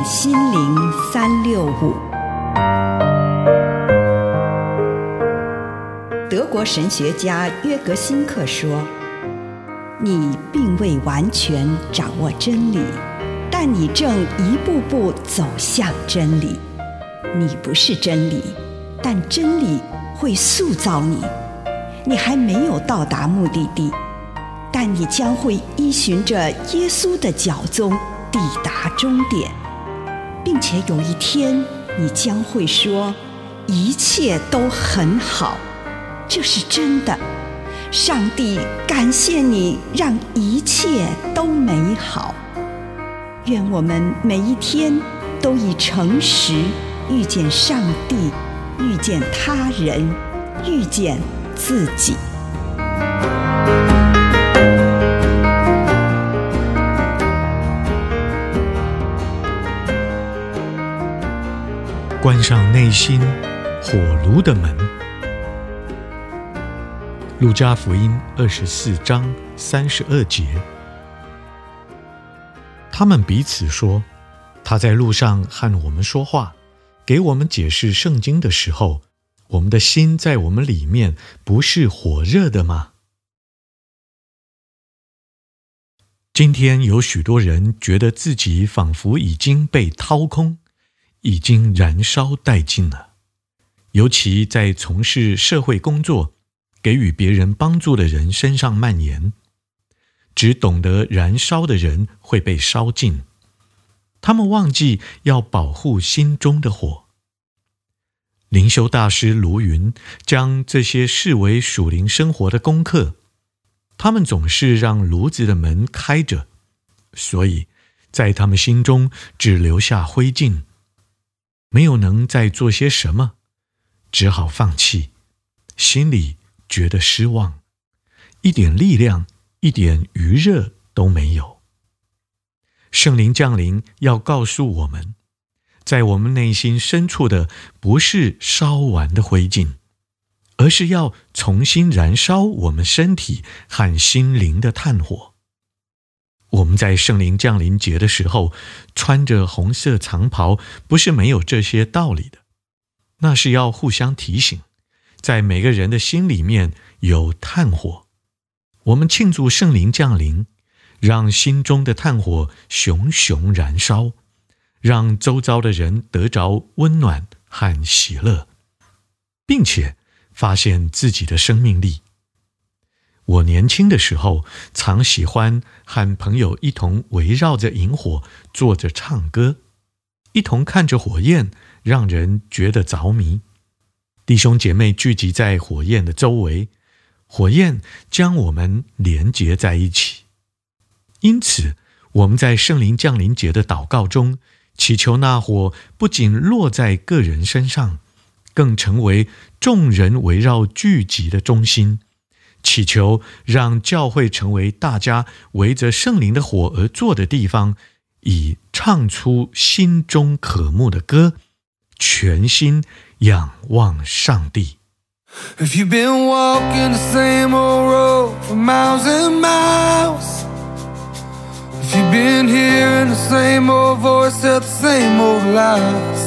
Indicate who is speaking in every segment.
Speaker 1: 心靈365。德國神學家約格辛克說：“你並未完全掌握真理，但你正一步步走向真理。你不是真理，但真理會塑造你。你還沒有到達目的地，但你將會依循着耶穌的腳蹤抵達終點，並且有一天你將會說，一切都很好。這是真的。上帝感謝你，讓一切都美好。願我們每一天都以誠實遇見上帝，遇見他人，遇見自己。
Speaker 2: 關上內心火爐的門。路加福音24章32節，他們彼此說，他在路上和我們說話，給我們解釋聖經的時候，我們的心在我們裡面不是火熱的嗎？今天有許多人覺得自己仿佛已經被掏空，已經燃燒殆盡了，尤其在從事社會工作、給予別人幫助的人身上蔓延。只懂得燃燒的人會被燒盡，他們忘記要保護心中的火。靈修大師盧雲將這些視為屬靈生活的功課，他們總是讓爐子的門開着，所以在他們心中只留下灰燼，沒有能再做些什麼，只好放棄，心裡覺得失望，一點力量，一點餘熱都沒有。聖靈降臨要告訴我們，在我們內心深處的不是燒完的灰燼，而是要重新燃燒我們身體和心靈的炭火。我們在聖靈降臨節的時候穿着紅色長袍，不是沒有這些道理的，那是要互相提醒，在每個人的心裡面有炭火。我們慶祝聖靈降臨，讓心中的炭火熊熊燃燒，讓周遭的人得着溫暖和喜樂，並且發現自己的生命力。我年輕的時候，常喜歡和朋友一同圍繞着營火坐着唱歌，一同看着火焰，讓人覺得着迷。弟兄姐妹聚集在火焰的周圍，火焰將我們連結在一起。因此，我們在聖靈降臨節的禱告中，祈求那火不僅落在個人身上，更成為眾人圍繞聚集的中心。祈求讓教會成為大家圍着聖靈的火而坐的地方，以唱出心中渴慕的歌，全心仰望上帝。
Speaker 3: If you've been walking the same old road for miles and miles, if you've been hearing the same old voice tell the same old lies,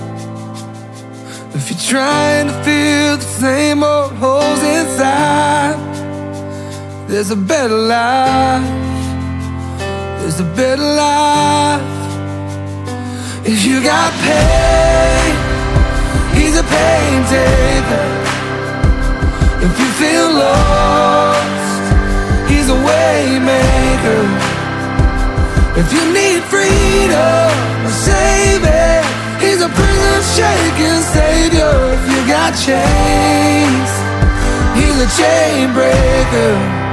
Speaker 3: if you're trying to fill the same old holes inside, there's a better life, there's a better life. If you got pain, he's a pain taker. If you feel lost, he's a way maker. If you need freedom or saving, he's a prison shaking savior. If you got chains, he's a chain breaker.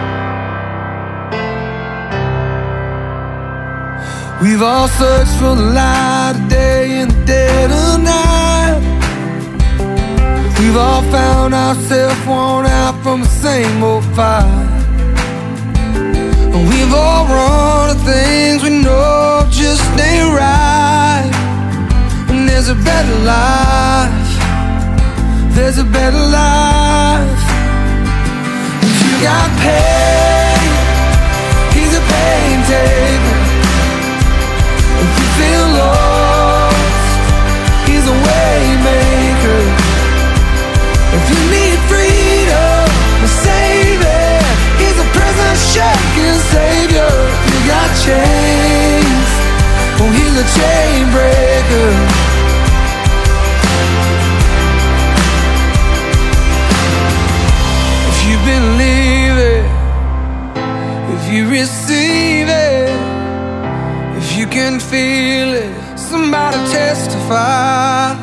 Speaker 3: We've all searched for the light of day in the dead of night. We've all found ourselves worn out from the same old fight. We've all run to things we know just ain't right. And there's a better life, there's a better life. If you got pain, he's a pain taker. If you feel lost, receive it, if you can feel it, somebody testify.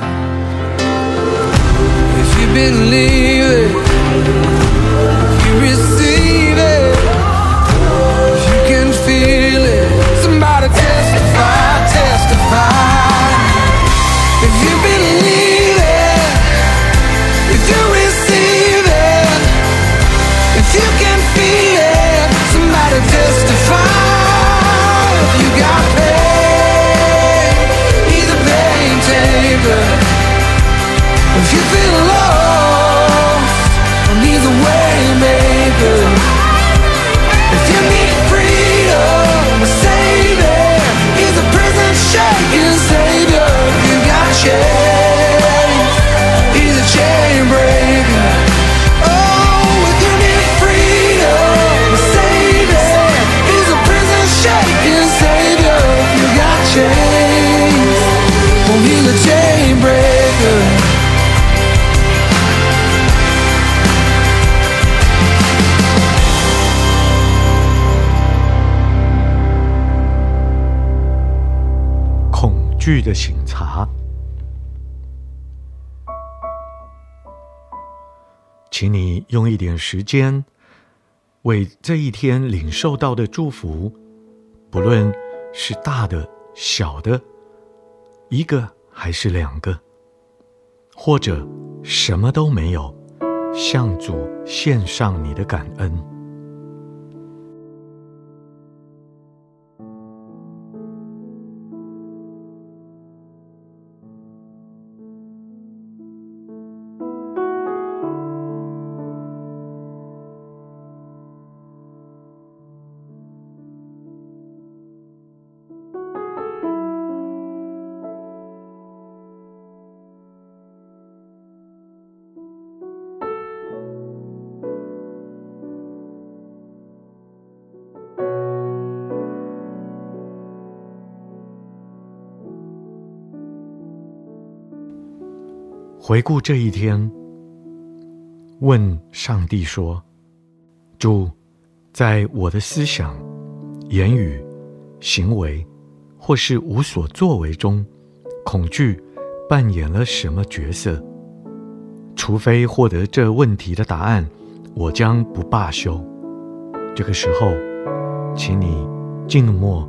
Speaker 3: If you believe it, if you receive it, if you can feel it, somebody testify, testify. If you believe it, if you receive it, if you can feel it, somebody testify. If you got pain, he's a pain taker. If you feel lost, he's a way maker. If you need freedom, a savior, he's a prison shaking savior. If you got chains, he's a chain breaker. Oh, if you need freedom, a savior, he's a prison shaking savior. If you got chains, oh, he's a chain breaker.
Speaker 2: 恐懼的省察。請你用一點時間，為這一天領受到的祝福，不論是大的、小的，一個還是兩個，或者什麼都沒有，向主獻上你的感恩。回顧這一天，問上帝說：主，在我的思想、言語、行為，或是無所作為中，恐懼扮演了什麼角色？除非獲得這問題的答案，我將不罷休。這個時候，請你靜默。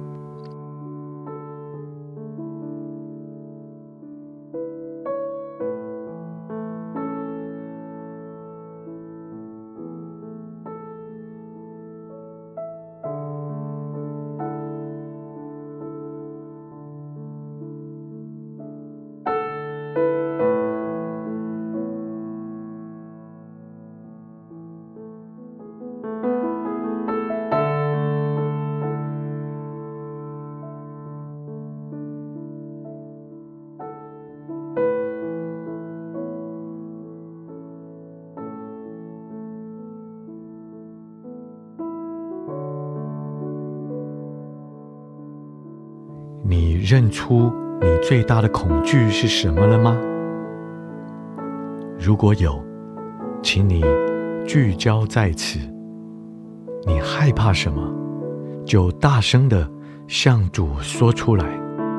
Speaker 2: 你認出你最大的恐懼是什麼了嗎？如果有，請你聚焦在此。你害怕什麼，就大聲地向主說出來。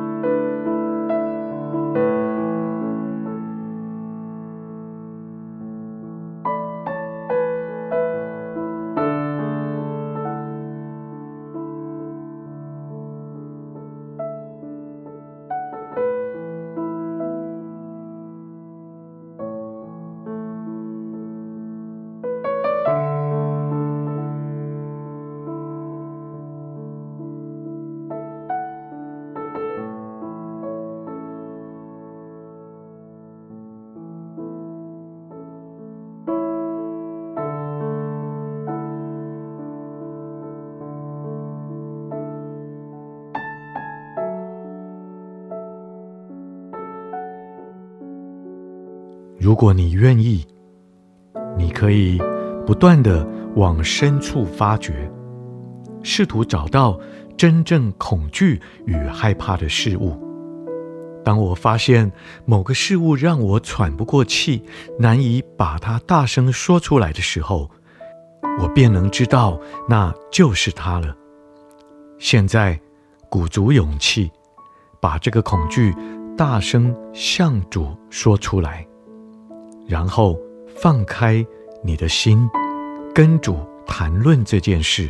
Speaker 2: 如果你願意，你可以不斷地往深處發掘，試圖找到真正恐懼與害怕的事物。當我發現某個事物讓我喘不過氣，難以把它大聲說出來的時候，我便能知道那就是它了。 現在鼓足勇氣，把這個恐懼大聲向主說出來，然後放開你的心，跟主談論這件事。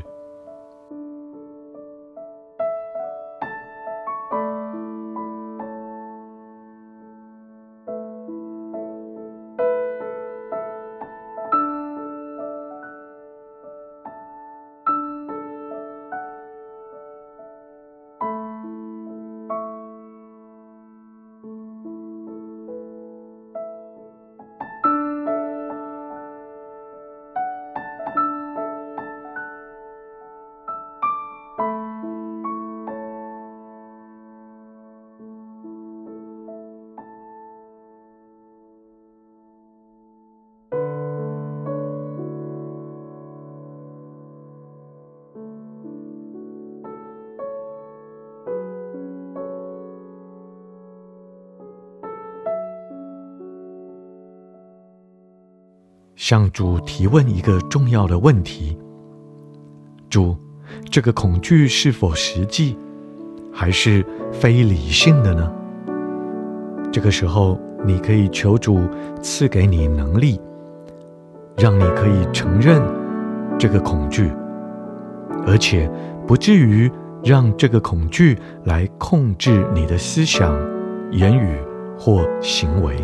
Speaker 2: 向主提問一個重要的問題：主，這個恐懼是否實際，還是非理性的呢？這個時候，你可以求主賜給你能力，讓你可以承認這個恐懼，而且不至於讓這個恐懼來控制你的思想、言語或行為。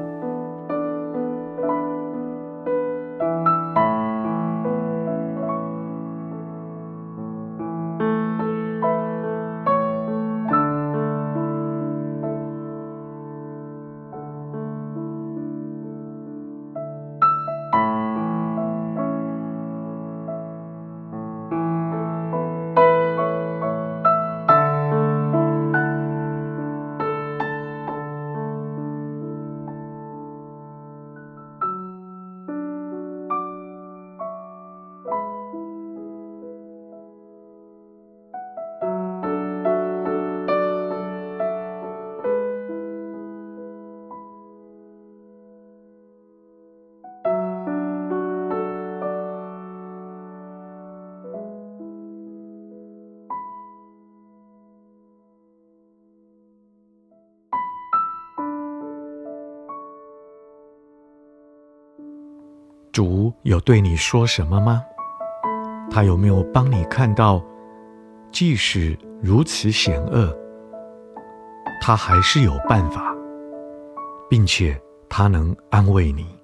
Speaker 2: 主有對你說什麼嗎？他有沒有幫你看到，即使如此險惡，他還是有辦法，並且他能安慰你。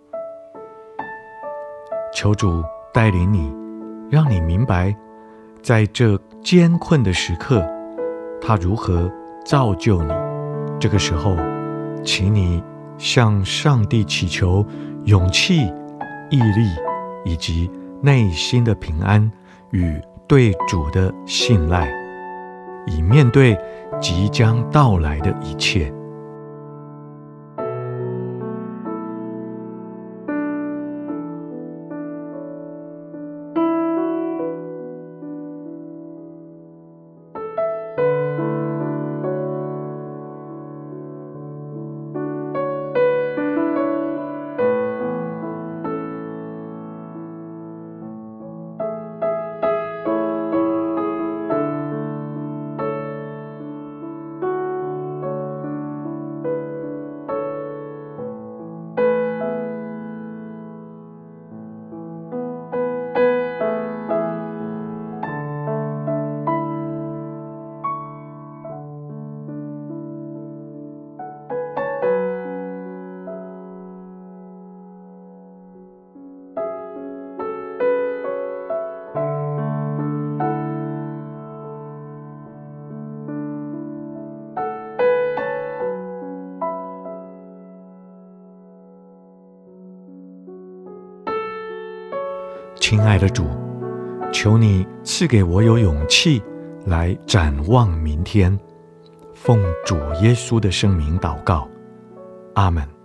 Speaker 2: 求主帶領你，讓你明白，在這艱困的時刻，他如何造就你。這個時候，請你向上帝祈求勇氣、毅力以及內心的平安與對主的信賴，以面對即將到來的一切。親愛的主，求你賜給我有勇氣來展望明天，奉主耶穌的聖名禱告，阿們。